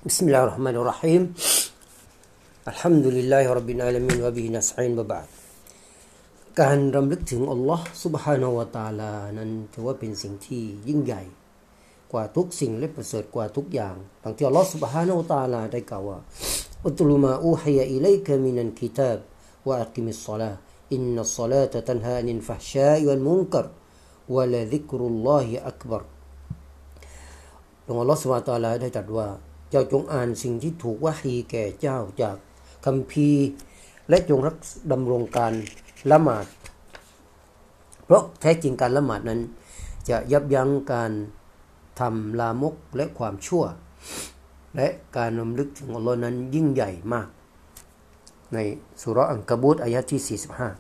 بسم الله الرحمن الرحيم الحمد لله رب العالمين وبه نستعين وبعدการรำลึกถึงอัลลอฮ์ซุบฮานะฮูวะตะอาลานั้นถือว่าเป็นสิ่งที่ยิ่งใหญ่กว่าทุกสิ่งและประเสริฐกว่าทุกอย่างดังที่อัลลอฮ์ซุบฮานะฮูวะตะอาลาได้กล่าวว่าอุตลุมาอูฮิยะอิลัยกะมินัลกิตาบวะอักิมิศศอลาห์อินนัศศอลาตะตันฮาอนิลฟะฮ์ชาอิวัลมุนกัรวะละซิกรุลลอฮิอักบัรอัลลอฮ์ซุบฮานะฮูวะตะอาลาได้ตรัสว่าเจ้าจงอ่านสิ่งที่ถูกวะฮีแก่เจ้าจากคัมภีร์และจงรักดำรงการละหมาดเพราะแท้จริงการละหมาดนั้นจะยับยั้งการทำลามกและความชั่วและการรำลึกถึงอัลลอฮ์นั้นยิ่งใหญ่มากในสุเราะห์อันกะบูตอายะห์ที่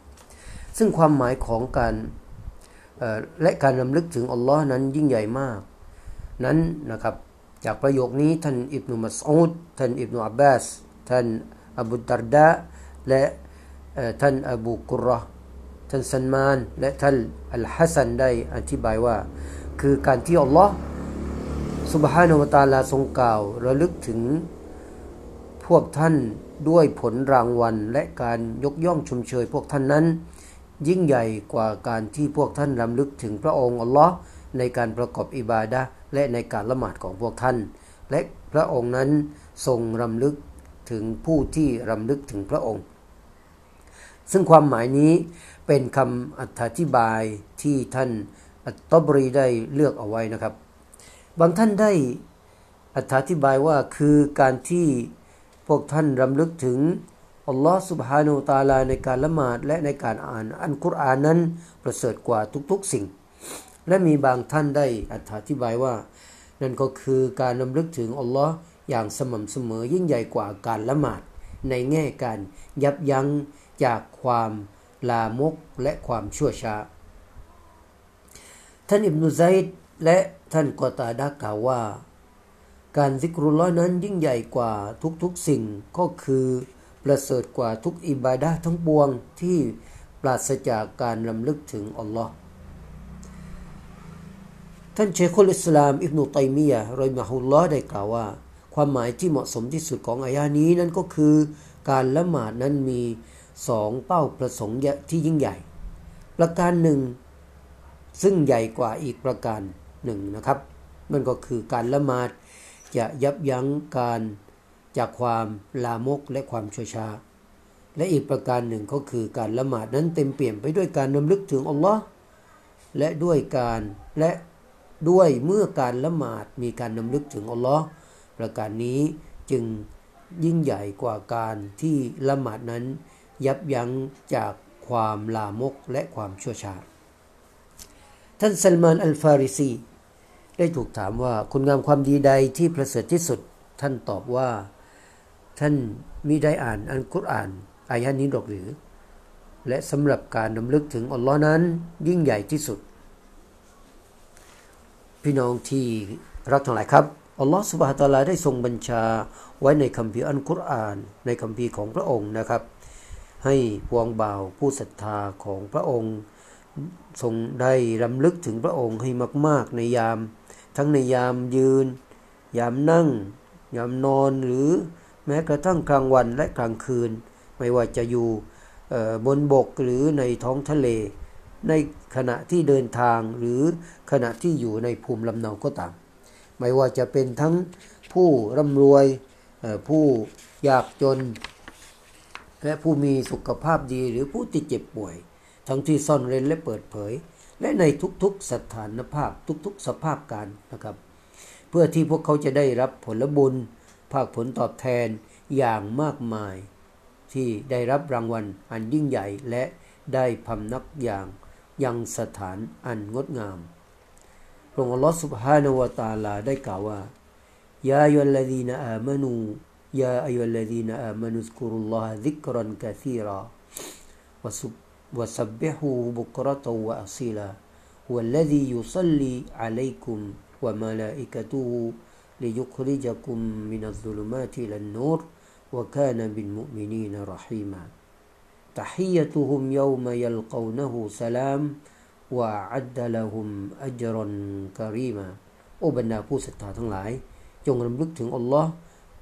45ซึ่งความหมายของการและการรำลึกถึงอัลลอฮ์นั้นยิ่งใหญ่มากนั้นนะครับจากประโยคนี้ท่านอิบนุมัสอูดท่านอิบนุอับบาสท่านอบูดัรดาและท่านอบูกุรเราะห์ท่านซัลมานและท่านอัลฮัสซันได้อธิบายว่าคือการที่อัลลอฮ์ซุบฮานะฮูวะตะอาลาทรงกล่าวระลึกถึงพวกท่านด้วยผลรางวัลและการยกย่องชมเชยพวกท่านนั้นยิ่งใหญ่กว่าการที่พวกท่านรำลึกถึงพระองค์อัลลอฮ์ในการประกอบอิบาดะห์และในการละหมาดของพวกท่านและพระองค์นั้นทรงรำลึกถึงผู้ที่รำลึกถึงพระองค์ซึ่งความหมายนี้เป็นคำอธิบายที่ท่านอัตตบรีได้เลือกเอาไว้นะครับบางท่านได้อธิบายว่าคือการที่พวกท่านรำลึกถึงอัลลอฮฺซุบฮานะฮูวะตะอาลาในการละหมาดและในการอ่านอัลกุรอานนั้นประเสริฐกว่าทุกๆสิ่งและมีบางท่านได้อธิบายว่านั่นก็คือการรำลึกถึงอัลลอฮ์อย่างสม่ำเสมอยิ่งใหญ่กว่าการละหมาดในแง่การยับยั้งจากความลามกและความชั่วช้าท่านอิบนุซัยด์และท่านกอตาดะห์กล่าวว่าการซิกรุลลอฮ์นั้นยิ่งใหญ่กว่าทุกๆสิ่งก็คือประเสริฐกว่าทุกอิบาดะห์ทั้งปวงที่ปราศจากการรำลึกถึงอัลลอฮ์ท่านเชคุลอิสลามอิบนุตัยมียะห์รอฮิมะฮุลลอฮ์ได้กล่าวว่าความหมายที่เหมาะสมที่สุดของอายะห์นี้นั้นก็คือการละหมาดนั้นมี2เป้าประสงค์ที่ยิ่งใหญ่ประการหนึ่งซึ่งใหญ่กว่าอีกประการหนึ่งนะครับนั่นก็คือการละหมาดจะยับยั้งการจากความลามกและความชั่วช้าและอีกประการหนึ่งก็คือการละหมาดนั้นเต็มเปี่ยมไปด้วยการรำลึกถึงอัลลอฮ์และด้วยเมื่อการละหมาดมีการรำลึกถึงอัลลอฮ์ประการนี้จึงยิ่งใหญ่กว่าการที่ละหมาดนั้นยับยั้งจากความลามกและความชั่วช้าท่านซัลมานอัลฟาริซีได้ถูกถามว่าคุณงามความดีใดที่ประเสริฐที่สุดท่านตอบว่าท่านมิได้อ่านอัลกุรอานอายะห์นี้หรอกหรือและสำหรับการรำลึกถึงอัลลอฮ์นั้นยิ่งใหญ่ที่สุดพี่น้องที่รักทั้งหลายครับอัลลอฮฺซุบฮานะฮูวะตะอาลาได้ทรงบัญชาไว้ในคัมภีร์อัลกุรอานในคัมภีร์ของพระองค์นะครับให้พวงบ่าวผู้ศรัทธาของพระองค์ทรงได้รำลึกถึงพระองค์ให้มากๆในยามทั้งในยามยืนยามนั่งยามนอนหรือแม้กระทั่งกลางวันและกลางคืนไม่ว่าจะอยู่บนบกหรือในท้องทะเลในขณะที่เดินทางหรือขณะที่อยู่ในภูมิลำเนาก็ตามไม่ว่าจะเป็นทั้งผู้ร่ำรวยผู้ยากจนและผู้มีสุขภาพดีหรือผู้ที่เจ็บป่วยทั้งที่ซ่อนเร้นและเปิดเผยและในทุกๆสถานภาพทุกๆสภาพการนะครับเพื่อที่พวกเขาจะได้รับผลบุญภาคผลตอบแทนอย่างมากมายที่ได้รับรางวัลอันยิ่งใหญ่และได้พำนักอย่างยังสถานอันงดงามพระองค์อัลลอฮฺ سبحانه และ تعالى ได้กล่าวว่ายาอัยยุลลซีนะอามานูยาอัยยุลลซีนะอามานุซกุรุลลอฮะซิกรันกะซีราวะซับบิฮูบุกเราะตันวะอะซีลาฮุวัลลซียุศ็อลลีอะลัยกุมวะมะลาอิกะตุฮุลิยุคริจะกุมมินัซซุลุมาติอิลันนูรวะกานะบิลมุอ์มินีนรอฮีมาتحيتهم يوم يلقونه سلام وأعد لهم أجرا كريما โอ้บรรดาผู้ศรัทธาทั้งหลายจงรำลึกถึงอัลลอฮ์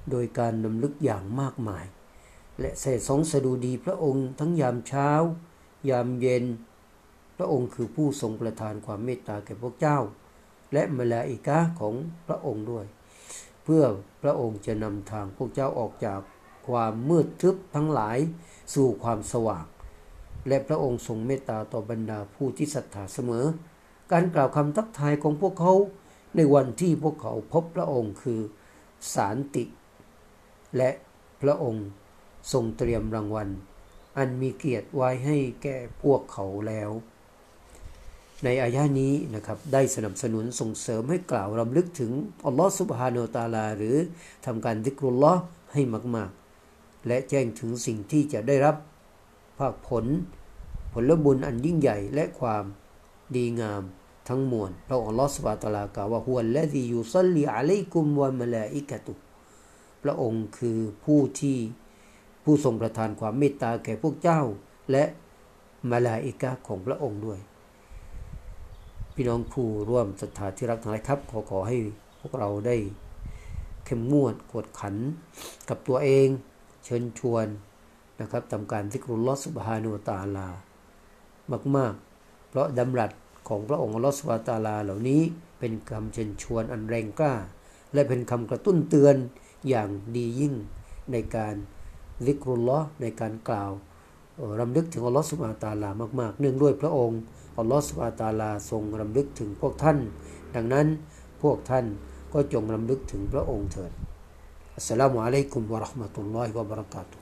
โดยการรำลึกอย่างมากมายและเสด็จทรงสดุดีพระองค์ทั้งยามเช้ายามเย็นพระองค์คือผู้ทรงประทานความเมตตาแก่พวกเจ้าและมลาอิกะฮ์ของพระองค์ด้วยเพื่อพระองค์จะนำทางพวกเจ้าออกจากความมืดทึบทั้งหลายสู่ความสว่างและพระองค์ทรงเมตตาต่อบรรดาผู้ที่ศรัทธาเสมอการกล่าวคำทักทายของพวกเขาในวันที่พวกเขาพบพระองค์คือสันติและพระองค์ทรงเตรียมรางวัลอันมีเกียรติไว้ให้แก่พวกเขาแล้วในอายะห์นี้นะครับได้สนับสนุนส่งเสริมให้กล่าวรำลึกถึงอัลลอฮฺซุบฮานะฮูวะตะอาลาหรือทำการซิกรุลลอฮ์ให้มากๆและแจ้งถึงสิ่งที่จะได้รับภาคผลบุญอันยิ่งใหญ่และความดีงามทั้งมวลพระองค์อัลลอฮฺซุบฮานะฮูวะตะอาลากล่าวว่าฮุวัลลซียุศ็อลลีอะลัยกุมวะมะลาอิกะตุพระองค์คือผู้ทรงประทานความเมตตาแก่พวกเจ้าและมลาอิกะฮ์ของพระองค์ด้วยพี่น้องผู้ร่วมศรัทธาที่รักทั้งหลายครับขอให้พวกเราได้เข้มงวดกวดขันกับตัวเองเชิญชวนนะครับทำการซิกรุลลอฮ์ซุบฮานะฮูวะตะอาลามากๆเพราะดำรัสของพระองค์อัลลอฮ์ซุบฮานะฮูวะตะอาลาเหล่านี้เป็นคำเชิญชวนอันแรงกล้าและเป็นคำกระตุ้นเตือนอย่างดียิ่งในการซิกรุลลอฮ์ในการกล่าวรำลึกถึงอัลลอฮ์ซุบฮานะฮูวะตะอาลามากๆเนื่องด้วยพระองค์อัลลอฮฺซุบฮานะฮูวะตะอาลาทรงรำลึกถึงพวกท่านดังนั้นพวกท่านก็จงรำลึกถึงพระองค์เถิดอัสสลามุอะลัยกุมวะเราะห์มะตุลลอฮิวะบะเราะกาตุฮ์